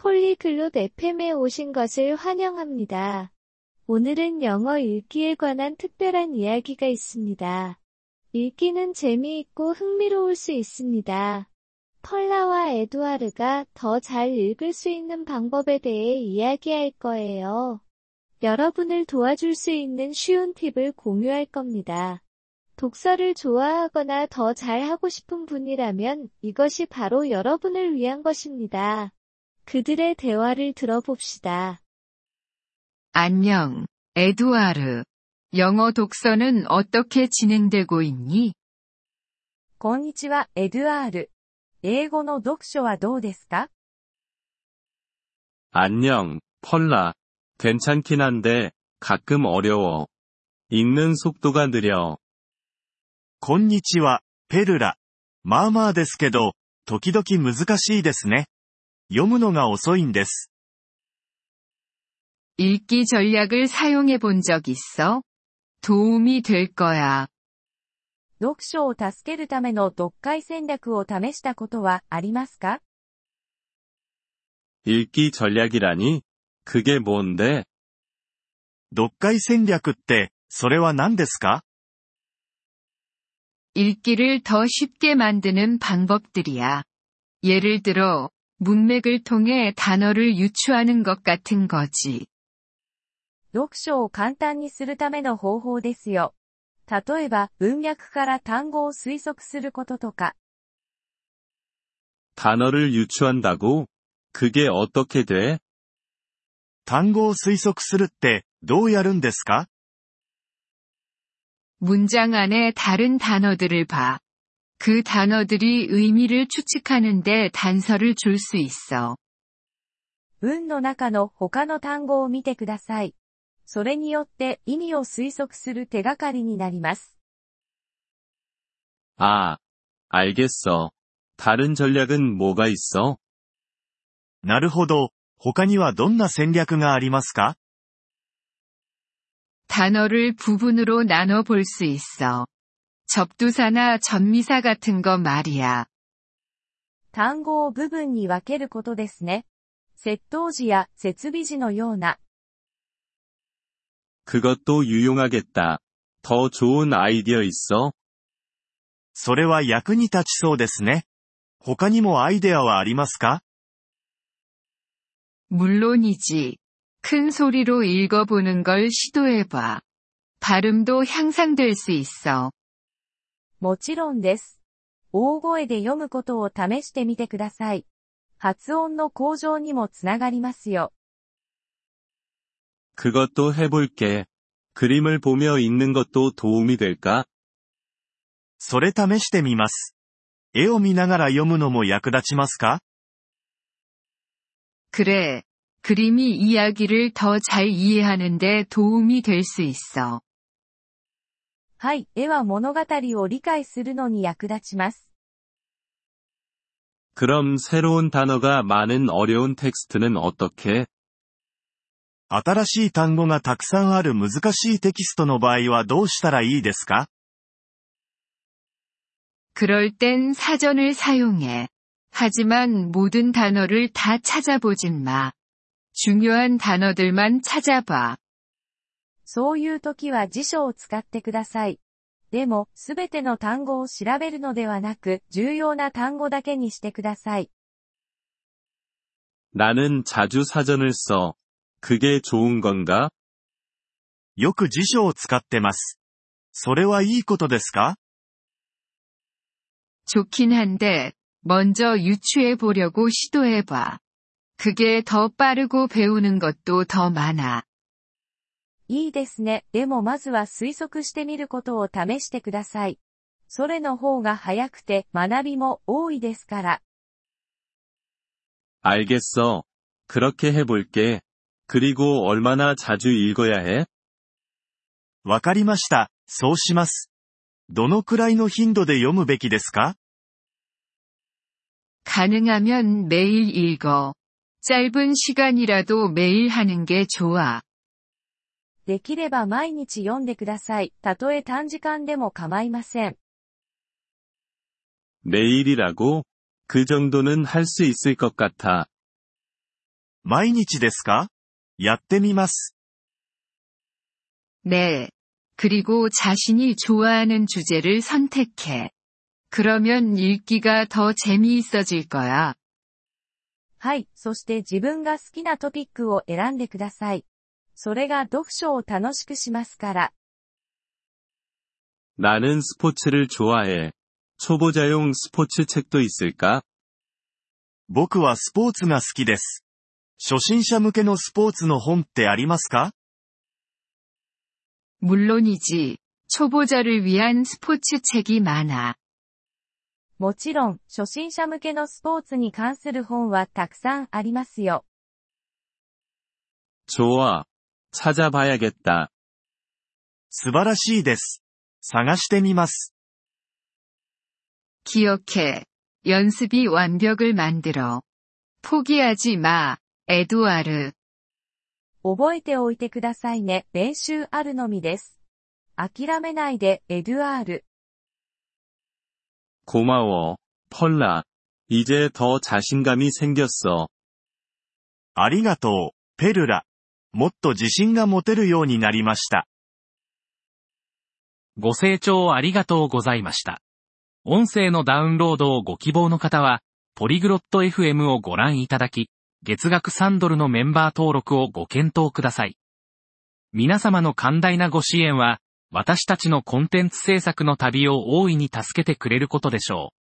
폴리글롯 FM에 오신 것을 환영합니다. 오늘은 영어 읽기에 관한 특별한 이야기가 있습니다. 읽기는 재미있고 흥미로울 수 있습니다. 펄라와 에두아르가 더 잘 읽을 수 있는 방법에 대해 이야기할 거예요. 여러분을 도와줄 수 있는 쉬운 팁을 공유할 겁니다. 독서를 좋아하거나 더 잘하고 싶은 분이라면 이것이 바로 여러분을 위한 것입니다. 그들의 대화를 들어봅시다. 안녕, 에두아르. 영어 독서는 어떻게 진행되고 있니? こんにちは、エドゥアール。英語の読書はどうですか？ 안녕, 펄라. 괜찮긴 한데, 가끔 어려워. 읽는 속도가 느려. こんにちは、ペルラ。まあまあですけど、時々難しいですね。読むのが遅いんです。 읽기 전략을 사용해 본 적 있어? 도움이 될 거야. 読書を助けるための読解戦略を試したことはありますか？ 읽기 전략이라니? 그게 뭔데? 読解戦略って、それは何ですか？ 읽기를 더 쉽게 만드는 방법들이야. 예를 들어, 문맥을 통해 단어를 유추하는 것 같은 거지. 読書を簡単にするための方法ですよ。例えば、文脈から単語を推測することとか。 단어를 유추한다고? 그게 어떻게 돼? 単語を推測するって、どうやるんですか？ 문장 안에 다른 단어들을 봐. 그 단어들이 의미를 추측하는데 단서를 줄 수 있어. 文の中の他の単語を見てください。それによって意味を推測する手がかりになります。 아, 알겠어. 다른 전략은 뭐가 있어? なるほど。他にはどんな戦略がありますか？ 단어를 부분으로 나눠 볼 수 있어. 접두사나 전미사 같은 거 말이야. 単語を部分に分けることですね。接頭辞や接尾辞のような。 그것도 유용하겠다. 더 좋은 아이디어 있어? それは役に立ちそうですね。他にもアイデアはありますか？ 물론이지. 큰 소리로 읽어보는 걸 시도해봐. 발음도 향상될 수 있어. もちろんです。大声で読むことを試してみてください。発音の向上にもつながりますよ。 그것도 해볼게. 그림을 보며 읽는 것도 도움이 될까? それ試してみます。絵を見ながら読むのも役立ちますか？ 그래. 그림이 이야기를 더 잘 이해하는 데 도움이 될 수 있어. はい、絵は物語を理解するのに役立ちます。 그럼 새로운 단어가 많은 어려운 텍스트는 어떻게? 新しい単語がたくさんある難しいテキストの場合はどうしたらいいですか？ 그럴 땐 사전을 사용해. 하지만 모든 단어를 다 찾아보진 마. 중요한 단어들만 찾아봐. そういう時は辞書を使ってください。でも、すべての単語を調べるのではなく、重要な単語だけにしてください。 나는 자주 사전을 써. 그게 좋은 건가? よく辞書を使ってます。それはいいことですか？ 좋긴 한데, 먼저 유추해 보려고 시도해봐. 그게 더 빠르고 배우는 것도 더 많아. いいですね。でもまずは推測してみることを試してください。それの方が早くて学びも多いですから。 알겠어. 그렇게 해볼게. 그리고 얼마나 자주 읽어야 해? わかりました。そうします。どのくらいの頻度で読むべきですか？ 가능하면 매일 읽어. 짧은 시간이라도 매일 하는 게 좋아. できれば毎日読んでください。たとえ短時間でも構いません。 매일이라고? 그 정도는 할 수 있을 것 같아. 毎日ですか？やってみます。 네. 그리고 자신이 좋아하는 주제를 선택해. 그러면 읽기가 더 재미있어질 거야. はい、そして自分が好きなトピックを選んでください。それが読書を楽しくしますから。 나는 스포츠를 좋아해. 초보자용 스포츠 책도 있을까? 僕はスポーツが好きです。初心者向けのスポーツの本ってありますか？ 물론이지. 초보자를 위한 스포츠 책이 많아. もちろん、初心者向けのスポーツに関する本はたくさんありますよ。 좋아. 찾아봐야겠다. 素晴らしいです。探してみます。 기억해. 연습이 완벽을 만들어. 포기하지 마, 에두아르. 覚えておいてくださいね。練習あるのみです。諦めないで、エドゥアール。 고마워, 펄라. 이제 더 자신감이 생겼어. ありがとう、ペルラ。もっと自信が持てるようになりました。 ご清聴ありがとうございました。音声のダウンロードをご希望の方は、ポリグロット FM をご覧いただき、月額3ドルのメンバー登録をご検討ください。皆様の寛大なご支援は、私たちのコンテンツ制作の旅を大いに助けてくれることでしょう。